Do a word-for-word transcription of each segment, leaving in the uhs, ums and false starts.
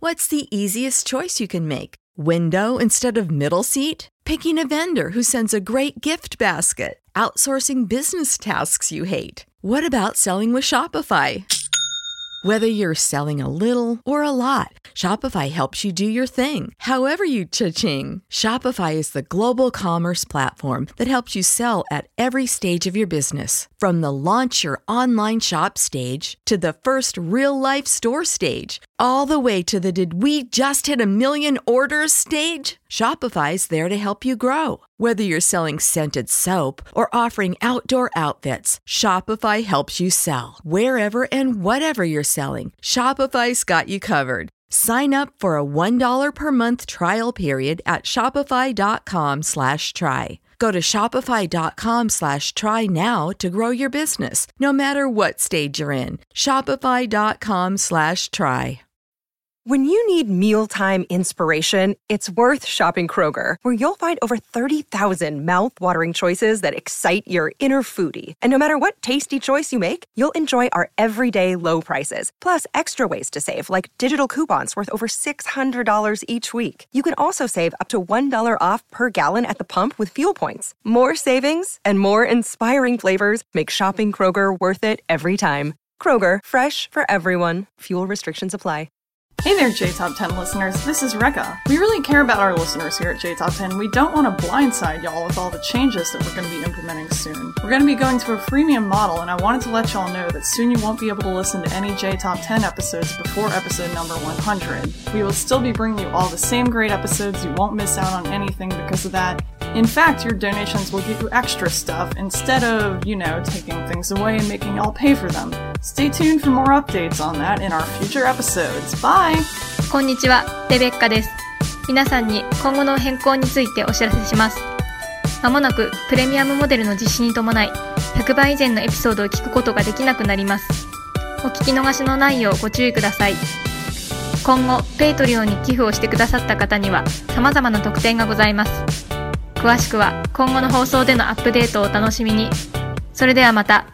What's the easiest choice you can make? Window instead of middle seat? Picking a vendor who sends a great gift basket? Outsourcing business tasks you hate? What about selling with Shopify? Whether you're selling a little or a lot, Shopify helps you do your thing, however you cha-ching. Shopify is the global commerce platform that helps you sell at every stage of your business. From the launch your online shop stage to the first real-life store stage, all the way to the did we just hit a million orders stage. Shopify's there to help you grow. Whether you're selling scented soap or offering outdoor outfits, Shopify helps you sell. Wherever and whatever you're selling, Shopify's got you covered. Sign up for a one dollar per month trial period at shopify.com slash try. Go to shopify.com slash try now to grow your business, no matter what stage you're in. Shopify.com slash try. When you need mealtime inspiration, it's worth shopping Kroger, where you'll find over thirty thousand mouth-watering choices that excite your inner foodie. And no matter what tasty choice you make, you'll enjoy our everyday low prices, plus extra ways to save, like digital coupons worth over six hundred dollars each week. You can also save up to one dollar off per gallon at the pump with fuel points. More savings and more inspiring flavors make shopping Kroger worth it every time. Kroger, fresh for everyone. Fuel restrictions apply. Hey there, J Top ten listeners. This is Rekka. We really care about our listeners here at J Top ten. We don't want to blindside y'all with all the changes that we're going to be implementing soon. We're going to be going to a freemium model, and I wanted to let y'all know that soon you won't be able to listen to any J Top ten episodes before episode number one hundred. We will still be bringing you all the same great episodes. You won't miss out on anything because of that. In fact, your donations will get you extra stuff instead of, you know, taking things away and making y'all pay for them. Stay tuned for more updates on that in our future episodes. Bye! こんにちは、レベッカです。皆さんに今後の変更についてお知らせします。まもなくプレミアムモデルの実施に伴い、ひゃくばい以前のエピソードを聞くことができなくなります。お聞き逃しのないようご注意ください。今後、ペイトリオンに寄付をしてくださった方には様々な特典がございます。詳しくは今後の放送でのアップデートをお楽しみに。それではまた。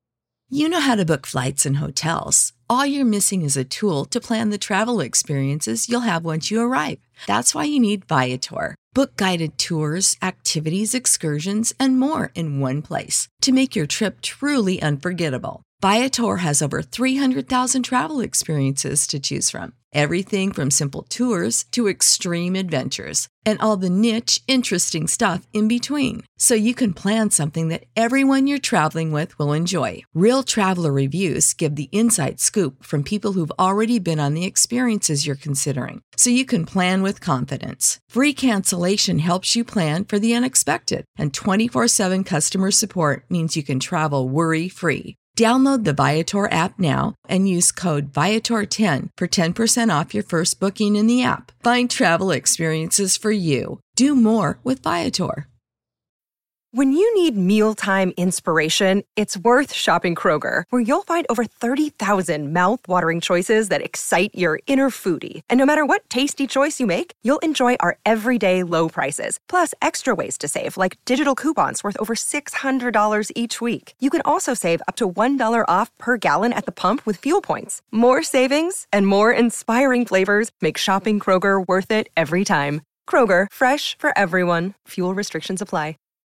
You know how to book flights and hotels. All you're missing is a tool to plan the travel experiences you'll have once you arrive. That's why you need Viator. Book guided tours, activities, excursions, and more in one place to make your trip truly unforgettable. Viator has over three hundred thousand travel experiences to choose from. Everything from simple tours to extreme adventures and all the niche, interesting stuff in between. So you can plan something that everyone you're traveling with will enjoy. Real traveler reviews give the inside scoop from people who've already been on the experiences you're considering. So you can plan with confidence. Free cancellation helps you plan for the unexpected. And twenty-four seven customer support means you can travel worry-free. Download the Viator app now and use code Viator ten for ten percent off your first booking in the app. Find travel experiences for you. Do more with Viator. When you need mealtime inspiration, it's worth shopping Kroger, where you'll find over thirty thousand mouth-watering choices that excite your inner foodie. And no matter what tasty choice you make, you'll enjoy our everyday low prices, plus extra ways to save, like digital coupons worth over six hundred dollars each week. You can also save up to one dollar off per gallon at the pump with fuel points. More savings and more inspiring flavors make shopping Kroger worth it every time. Kroger, fresh for everyone. Fuel restrictions apply.